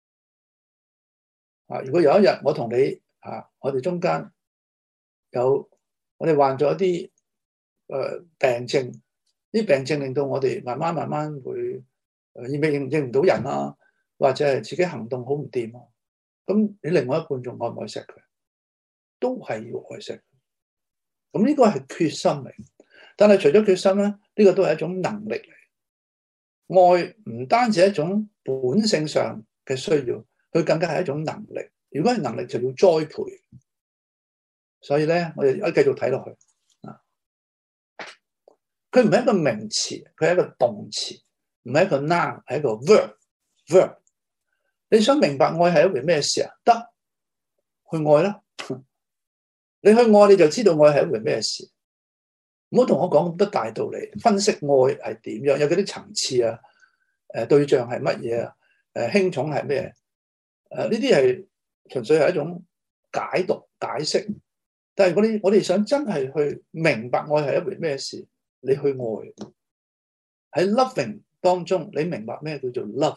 如果有一日我同你我哋中間我哋患咗一啲病症，啲病症令到我哋慢慢會認唔到人啊，或者係自己行動好唔掂啊，咁你另外一半仲愛唔愛錫佢？都係要愛錫佢。咁呢個係決心嚟，但係除咗決心咧，呢個都係一種能力嚟。愛唔單止係一種本性上嘅需要，佢更加係一種能力。如果係能力，就要栽培。所以咧，我哋繼續睇落去。佢唔係一個名詞，佢係一個動詞，唔係一個 noun， 係一個 verb。你想明白愛係一回咩事啊？得，去愛啦。你去愛你就知道愛係一回咩事。唔好同我講咁多大道理，分析愛係點樣，有幾啲層次啊？對象係乜嘢啊？輕重係咩？呢啲係純粹係一種解讀解釋。但係如果我哋想真係去明白愛係一回咩事，你去愛喺 loving 當中，你明白咩叫做 love？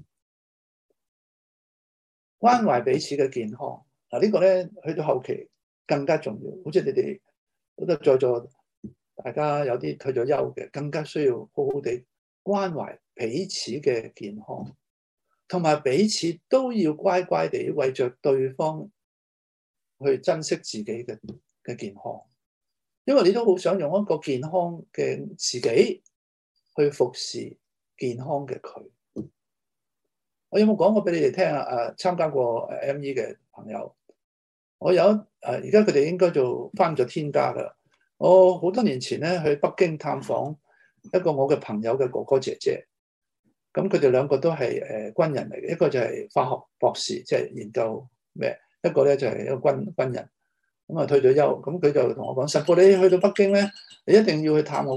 關懷彼此嘅健康。呢個咧去到後期更加重要。好似你哋好多在座大家有啲退咗休嘅，更加需要好好地關懷彼此嘅健康，同埋彼此都要乖乖地為着對方去珍惜自己嘅健康，因為你都好想用一個健康嘅自己去服侍健康嘅佢。我有冇講過俾你哋聽啊？參加過ME 嘅朋友，我有而家佢哋應該就返咗天家噶啦。我好多年前咧去北京探訪一個我嘅朋友嘅哥哥姐姐，咁佢哋兩個都係軍人嚟嘅，一個就係化學博士，即係研究咩，一個咧就係一個軍人，咁啊退咗休。咁佢就同我講：神父，你去到北京咧，你一定要去探我嘅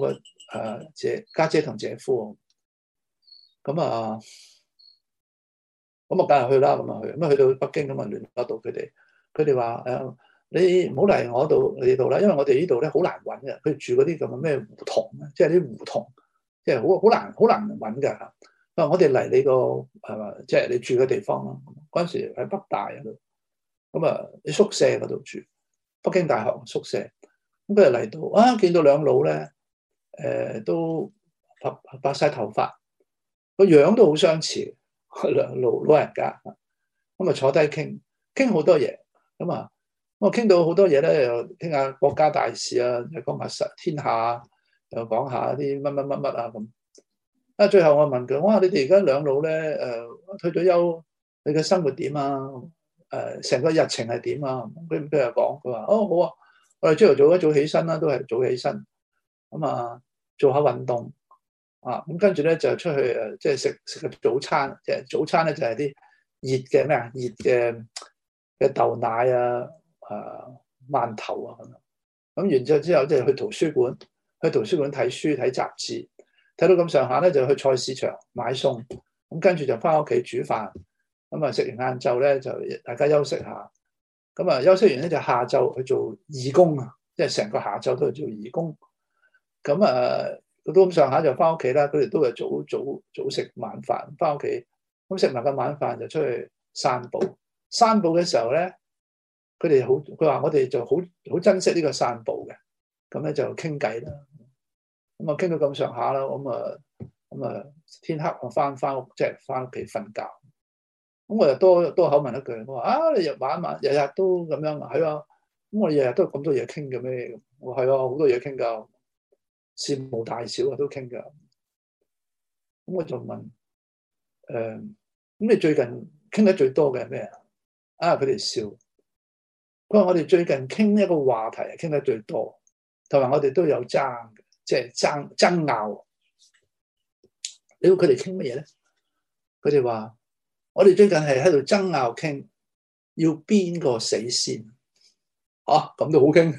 家姐同姐夫，咁啊梗係去啦，咁啊去到北京咁啊聯絡到佢哋，佢哋話你唔好嚟我哋度啦，因為我哋呢度咧好難揾嘅，佢住嗰啲咁嘅咩胡同啊，即係啲胡同，即係好難揾㗎。我哋嚟你個係嘛，即係你住嘅地方咯。嗰陣時喺北大嗰度，咁啊喺宿舍嗰度住，北京大學宿舍。咁佢就嚟到啊，見到兩老咧，都白晒頭髮，個樣都好相似，兩老人家。咁啊坐低傾好多嘢，咁啊我傾到好多嘢咧，又傾下國家大事啊，又講下天下，又講下啲乜啊咁。最後我問佢，我話你哋而家兩老咧，退咗休，你嘅生活點啊？成個日程係點啊？佢又講，佢話好啊，我哋朝頭早一早起身啦，都係早起身，咁啊做下運動啊，咁跟住咧就出去即係食個早餐，即係早餐咧就係啲熱嘅咩啊，熱嘅豆奶啊，饅頭啊咁樣，咁完之後即係去圖書館睇書睇雜誌。睇到咁上下咧，就去菜市場買餸，咁跟住就翻屋企煮飯，咁啊食完晏晝咧就大家休息下，咁啊休息完咧就下晝去做義工啊，即係成個下晝都係做義工，咁到咁上下就翻屋企啦，佢哋都係早食晚飯，翻屋企，咁食埋個晚飯就出去散步嘅時候咧，佢話我哋就好珍惜呢個散步嘅，咁咧就傾偈啦。咁啊，傾到咁上下啦，咁啊，天黑我翻屋，即係翻屋企瞓覺。咁我又多口問一句，我話你日日都咁樣啊？係啊，咁我日日都咁多嘢傾嘅咩？我係啊，好多嘢傾噶，事無大小啊都傾噶。咁我就問，咁你最近傾得最多嘅係咩啊？佢哋笑，佢話我哋最近傾一個話題係傾得最多，同埋我哋都有爭嘅。即係爭拗，你估佢哋傾乜嘢咧？佢哋話：我哋最近係喺度爭拗傾，要邊個死先？咁都好傾。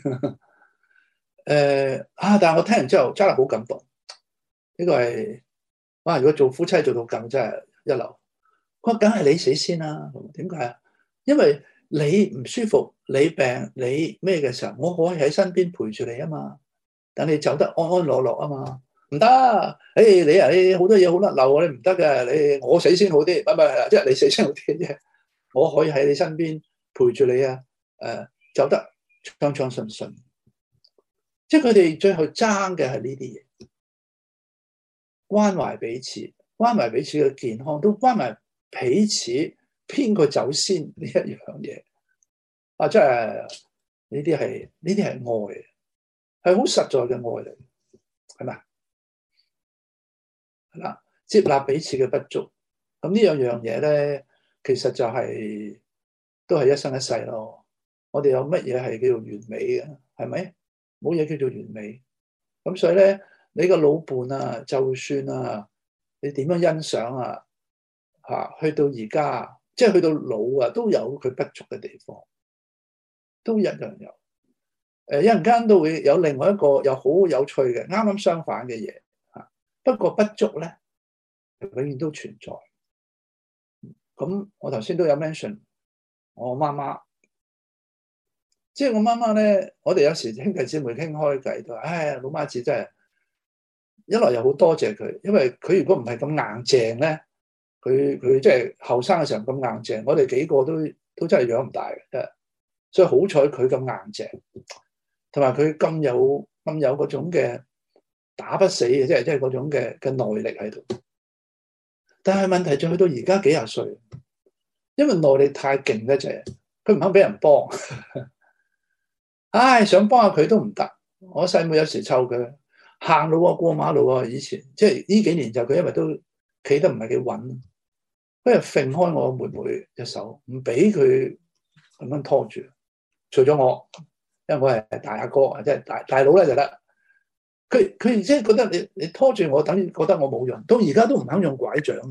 但係我聽完之後真係好感動。呢個係如果做夫妻做到咁真係一流。佢話：梗係你死先啦。點解啊？因為你唔舒服、你病、你咩嘅時候，我可以喺身邊陪住你啊嘛。等你走得安安樂樂啊嘛，唔得，你好多嘢好甩漏，你唔得嘅，我死先好啲，唔係，即係你死先好啲啫。我可以喺你身邊陪住你啊，走得暢暢順順。即係佢哋最後爭嘅係呢啲嘢，關懷彼此，關懷彼此嘅健康，都關懷彼此邊個走先呢一樣嘢。即係呢啲係愛。係好實在嘅愛嚟，係咪？係啦，接納彼此嘅不足，咁呢樣嘢咧，其實就都係一生一世咯。我哋有乜嘢係叫做完美嘅？係咪？冇嘢叫做完美。咁所以咧，你個老伴啊，就算啊，你點樣欣賞啊，去到而家，即係去到老啊，都有佢不足嘅地方，都一樣有。一陣間都會有另外一個又好有趣嘅，啱啱相反嘅嘢嚇。不過不足咧，永遠都存在。咁我頭先都有 mention 我媽媽，即係我媽媽咧，我哋有時兄弟姊妹傾開偈都話：老媽子真係一來又好多謝佢，因為佢如果唔係咁硬淨咧，佢即係後生嘅時候咁硬淨，我哋幾個都真係養唔大嘅。所以好彩佢咁硬淨。同埋佢咁有嗰種嘅打不死嘅，即係嗰種嘅耐力喺度。但係問題就去到而家幾廿歲，因為耐力太勁咧，就係佢唔肯俾人幫。想幫下佢都唔得。我細妹有時湊佢行路啊，過馬路啊，以前即係呢幾年就佢因為都企得唔係幾穩，佢又揈開我妹妹隻手，唔俾佢咁樣拖住。除咗我。因為我係大阿哥，即係大佬咧就得。佢即係覺得你拖住我，等於覺得我冇用。到而家都唔肯用拐杖，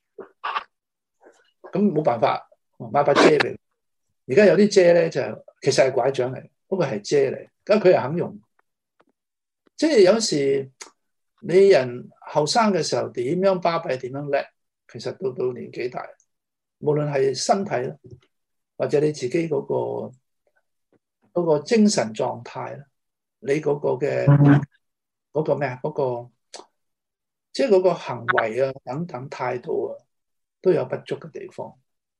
咁冇辦法，買把遮嚟。而家有啲遮咧就其實係拐杖嚟，不過係遮嚟。咁佢又肯用。即係有時你人後生嘅時候點樣巴閉，點樣叻，其實到年紀大，無論係身體啦，或者你自己嗰個精神狀態啦，你嗰個嘅嗰個咩啊，嗰個即係嗰個行為啊等等態度啊，都有不足嘅地方。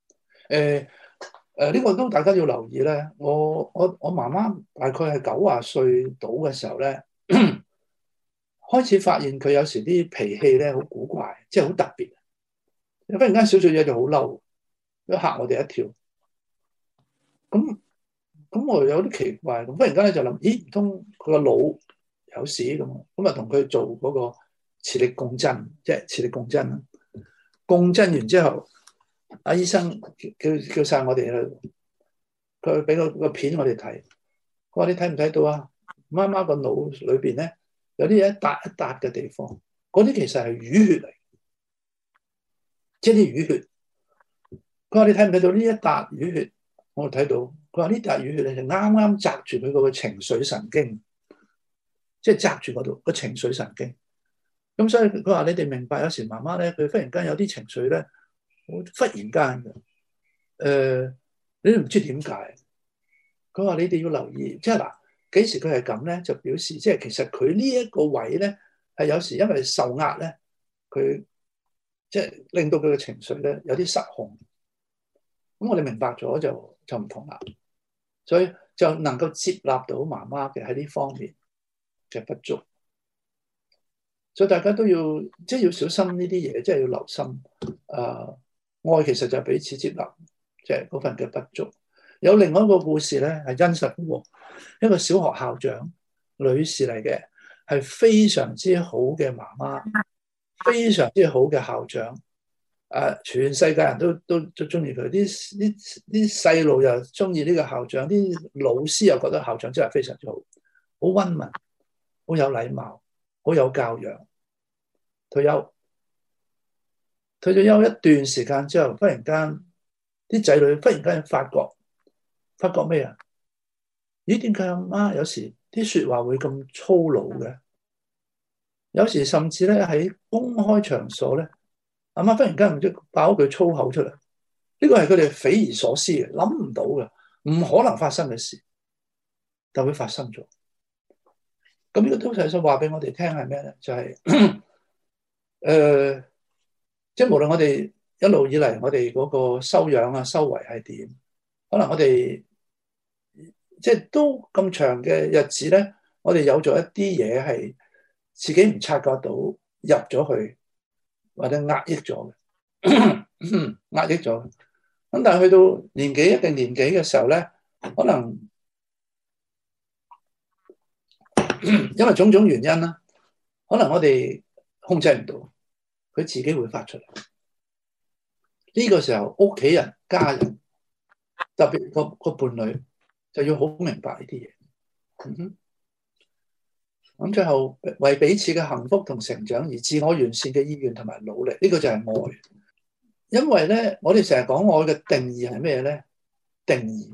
呢個都大家要留意咧。我媽媽大概係90歲到嘅時候咧，開始發現佢有時啲脾氣咧好古怪，即係好特別。忽然間少少嘢就好嬲，都嚇我哋一跳。咁我有啲奇怪，咁忽然間咧就諗，咦，唔通佢個腦有事咁？咁啊同佢做嗰個磁力共振，即係磁力共振啦。共振完之後，阿醫生叫晒我哋去，佢俾個片我哋睇。佢話你睇唔睇到啊？媽媽個腦裏邊咧有啲一笪一笪嘅地方，嗰啲其實係淤血嚟，即係啲淤血。佢話你睇唔睇到呢一笪淤血？我睇到。佢話呢笪淤血咧就啱啱擲住佢嗰個情緒神經，即係擲住嗰度個情緒神經。咁所以佢話你哋明白，有時媽媽咧佢忽然間有啲情緒咧，忽然間嘅，你都唔知點解。佢話你哋要留意，即係嗱，幾時佢係咁咧，就表示即係其實佢呢一個位咧係有時因為受壓咧，佢即係令到佢嘅情緒咧有啲失控。咁我哋明白咗就唔同啦，所以就能夠接納到媽媽嘅喺呢方面嘅不足。所以大家都要即係要小心呢啲嘢，即係要留心。愛其實就係彼此接納，即係嗰份嘅不足。有另外一個故事咧係真實嘅，一個小學校長女士嚟嘅，係非常之好嘅媽媽，非常之好嘅校長。全世界人都中意佢，啲細路又中意呢個校長，啲老師又覺得校長真係非常之好，好溫文，好有禮貌，好有教養。退咗休一段時間之後，忽然間啲仔女忽然間發覺咩啊？咦，點解阿媽有時啲說話會咁粗魯嘅？有時甚至咧喺公開場所咧，阿媽忽然間唔知爆一句粗口出嚟。呢個係佢哋匪夷所思嘅，諗唔到嘅，唔可能發生嘅事，就會發生咗。咁呢個都係想話俾我哋聽係咩咧？就係即係無論我哋一路以嚟我哋嗰個修養啊、修為係點，可能我哋即係都咁長嘅日子咧，我哋有咗一啲嘢係自己唔察覺到入咗去，或者壓抑咗嘅，壓抑咗。咁但係去到年紀一定年紀嘅時候咧，可能因為種種原因啦，可能我哋控制唔到，佢自己會發出嚟。呢個時候，屋企人、家人，特別個伴侶，就要好明白呢啲嘢。咁最後為彼此嘅幸福同成長而自我完善嘅意願同埋努力，呢個就係愛。因為咧，我哋成日講愛嘅定義係咩咧？定義，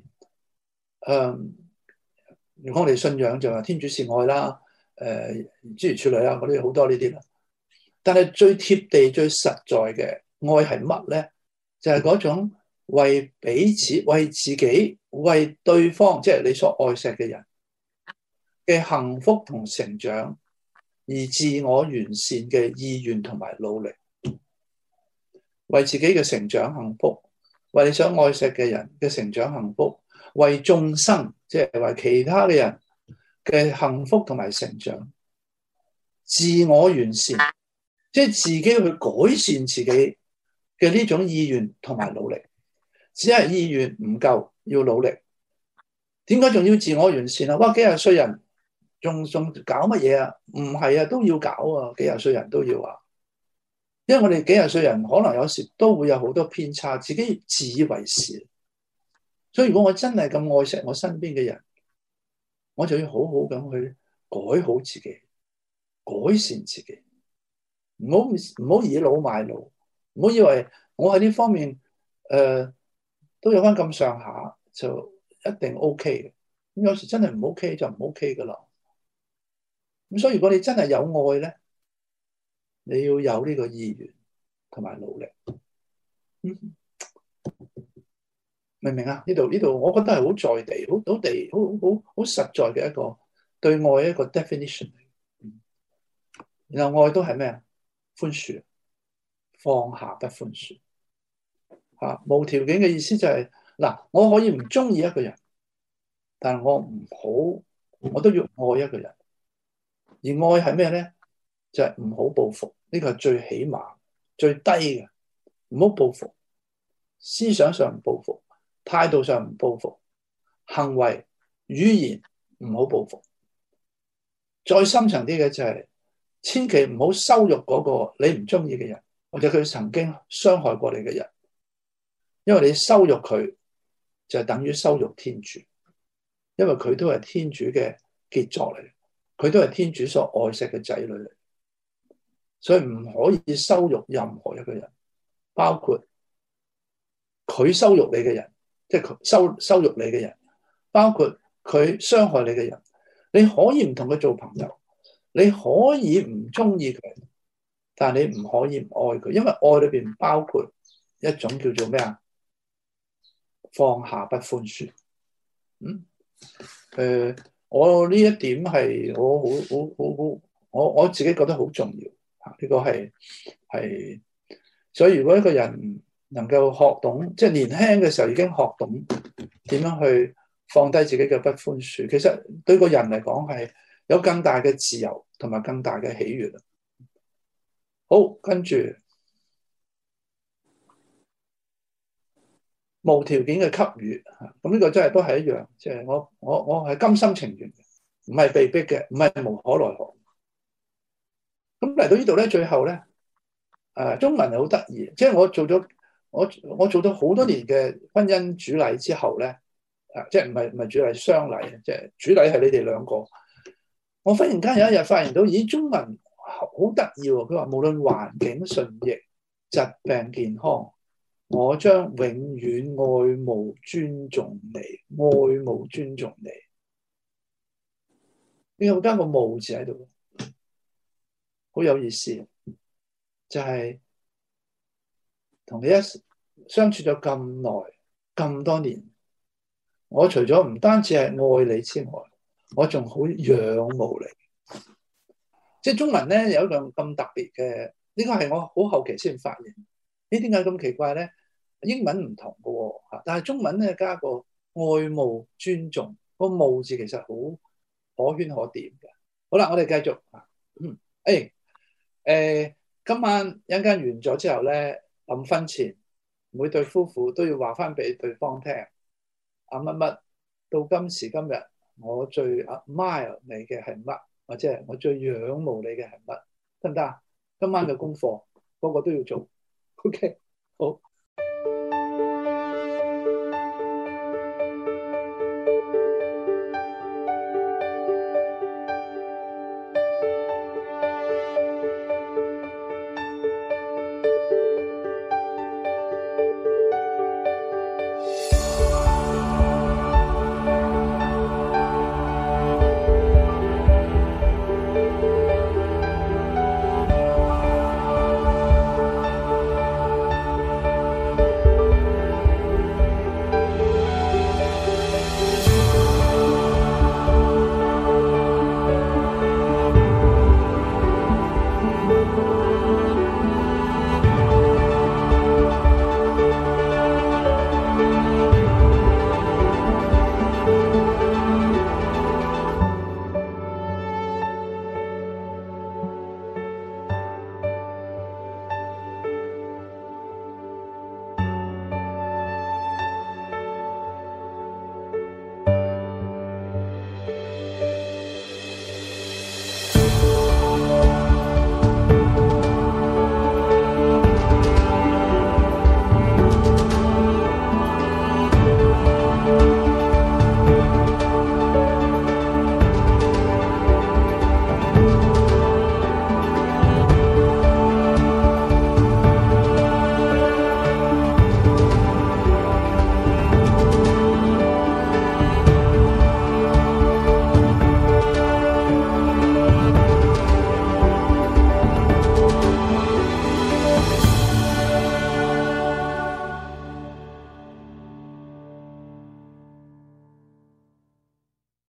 如果我哋信仰就話天主是愛啦，諸如此類啦，嗰啲好多呢啲啦。但係最貼地、最實在嘅愛係乜咧？就係嗰種為彼此、為自己、為對方，即係你所愛錫嘅人嘅幸福同成長而自我完善嘅意願同埋努力，為自己嘅成長幸福，為你想愛錫嘅人嘅成長幸福，為眾生，即係為其他嘅人嘅幸福同埋成長，自我完善，即係自己去改善自己嘅呢種意願同埋努力。只係意願唔夠，要努力。點解仲要自我完善啊？哇，幾廿歲人仲搞乜嘢啊？唔係啊，都要搞啊！幾廿歲人都要啊，因為我哋幾廿歲人可能有時都會有好多偏差，自己自以為是。所以如果我真係咁愛錫我身邊嘅人，我就要好好咁去改好自己，改善自己，唔好倚老賣老，唔好以為我喺呢方面都有翻咁上下就一定 OK 嘅。咁有時真係唔 OK 就唔 OK 噶啦。咁所以如果你真係有愛咧， 你要有呢個意願同埋努力。明唔明啊？呢度，我覺得係好在地、好實在嘅一個對愛一個 definition。然後愛都係咩啊？寬恕，放下不寬恕。無條件嘅意思就係嗱，我可以唔中意一個人，但係我都要愛一個人。而愛係咩咧？就係唔好報復，呢個係最起碼、最低嘅。唔好報復，思想上唔報復，態度上唔報復，行為、語言唔好報復。再深層啲嘅就係，千祈唔好羞辱嗰個你唔中意嘅人，或者佢曾經傷害過你嘅人，因為你羞辱佢就係等於羞辱天主，因為佢都係天主嘅傑作嚟，佢都係天主所愛錫嘅仔女嚟，所以唔可以羞辱任何一個人，包括佢羞辱你嘅人，即係佢羞辱你嘅人，包括佢傷害你嘅人。你可以唔同佢做朋友，你可以唔中意佢，但係你唔可以唔愛佢，因為愛裏邊包括一種叫做咩啊？放下不寬恕。我呢一點係我自己覺得好重要嚇，呢個係，所以如果一個人能夠學懂，即係年輕嘅時候已經學懂點樣去放低自己嘅不寬恕，其實對個人嚟講係有更大嘅自由同埋更大嘅喜悅。好，跟住無條件嘅給予，咁呢個真係都係一樣，即係我係甘心情願嘅，唔係被逼嘅，唔係無可奈何。咁嚟到呢度咧，最後咧，中文係好得意，即係我做咗好多年嘅婚姻主禮之後咧，即係唔係主禮雙禮，即係主禮係你哋兩個。我忽然間有一日發現到，咦，中文好得意喎！佢話無論環境順逆、疾病健康，我將永遠愛慕尊重你，愛慕尊重你。點解加個慕字喺度？好有意思，就係同你相處咗咁耐咁多年，我除咗唔單止係愛你之外，我仲好仰慕你。即係中文咧有一樣咁特別嘅，呢個係我好後期先發現。點解咁奇怪咧？英文唔同嘅喎，但係中文咧加個愛慕尊重，個慕字其實好可圈可點嘅。好啦，我哋繼續。今晚一陣間完咗之後咧，臨瞓前每對夫婦都要話翻俾對方聽，乜乜到今時今日，我最 admire 你嘅係乜，或者係我最仰慕你嘅係乜，得唔得啊？今晚嘅功課個個都要做。OK，好。